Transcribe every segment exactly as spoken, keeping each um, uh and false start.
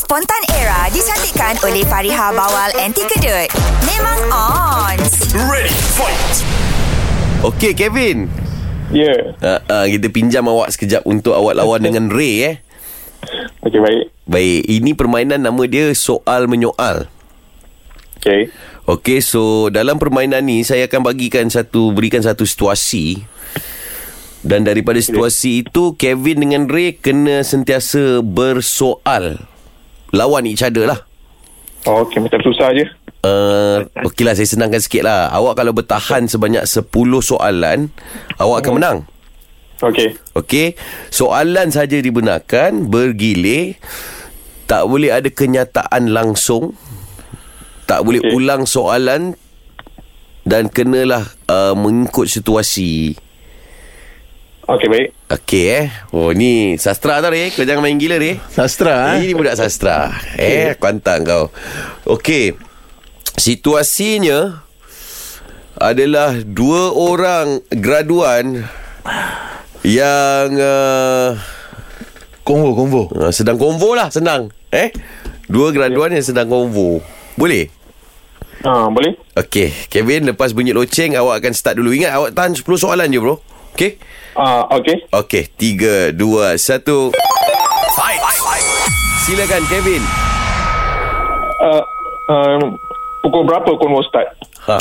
Spontan Era dicantikkan oleh Fariha Bawal Anti Kedut. Memang on. Ready, fight. Okey, Kevin. Ya. Yeah. Uh, uh, kita pinjam awak sekejap untuk awak lawan dengan Ray eh. Okey, baik. Baik, ini permainan nama dia soal menyoal. Okey. Okey, so dalam permainan ni saya akan bagikan satu berikan satu situasi. Dan daripada situasi itu Kevin dengan Ray kena sentiasa bersoal. Lawan each other lah. Oh, okey, macam susah je. Uh, Okey lah, saya senangkan sikit lah. Awak kalau bertahan sebanyak sepuluh soalan, awak akan menang. Okey. Okey, soalan saja dibenarkan, bergilir. Tak boleh ada kenyataan langsung. Tak boleh Okey. ulang soalan. Dan kenalah uh, mengikut situasi. Okey, baik. Okey eh. Oh, ni sastra tau Ray. Kau jangan main gila Ray. Sastra eh? Ini budak sastra. Eh, aku hantar kau. Okey. Situasinya adalah dua orang graduan yang uh, Konvo, konvo. uh, sedang konvo lah, senang. Eh? Dua graduan yang sedang konvo. Boleh? Ah, boleh? Okey, Kevin, lepas bunyi loceng awak akan start dulu. Ingat awak tahan sepuluh soalan je, bro. Okey? Ah, okey. Okey, tiga, dua, satu. Fight. Fight. Silakan Kevin. Uh, um, pukul berapa konvo start? Ha.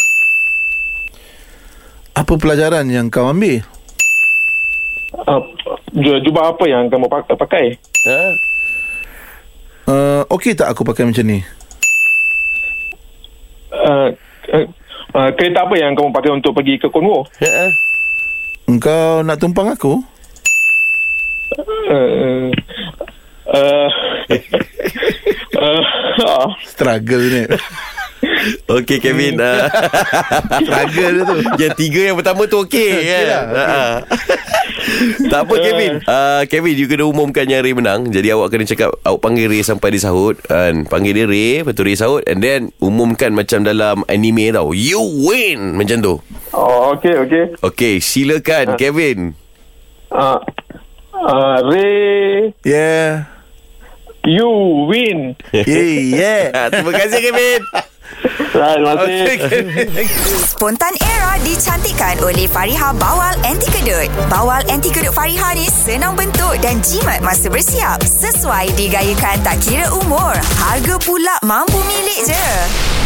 Apa pelajaran yang kau ambil? Uh, jubah apa yang kamu pakai? Ha? Uh, Okey tak aku pakai macam ni? Uh, uh, uh, kereta apa yang kamu pakai untuk pergi ke konvo? Ha? Engkau nak tumpang aku? Uh, uh, uh, uh, Struggle ni. Okey Kevin. uh, Struggle tu. Yang tiga yang pertama tu okey kan? lah, okey. Ha. Tak apa Kevin. uh, Kevin, you kena umumkan yang Ray menang. Jadi awak kena cakap, awak panggil Ray sampai dia sahut, kan? Panggil dia Ray, lepas tu Ray sahut, and then umumkan macam dalam anime tau, you win, macam tu. oh, okey, okey. Okey, silakan Kevin. Uh, uh, Ray, Yeah. you win. Yeah, yeah. Ha, terima kasih Kevin. Terima kasih. Okay. Spontan Era dicantikkan oleh Fariha Bawal Anti Kedut. Bawal Anti Kedut Fariha ni senang bentuk dan jimat masa bersiap. Sesuai digayakan tak kira umur. Harga pula mampu milik je.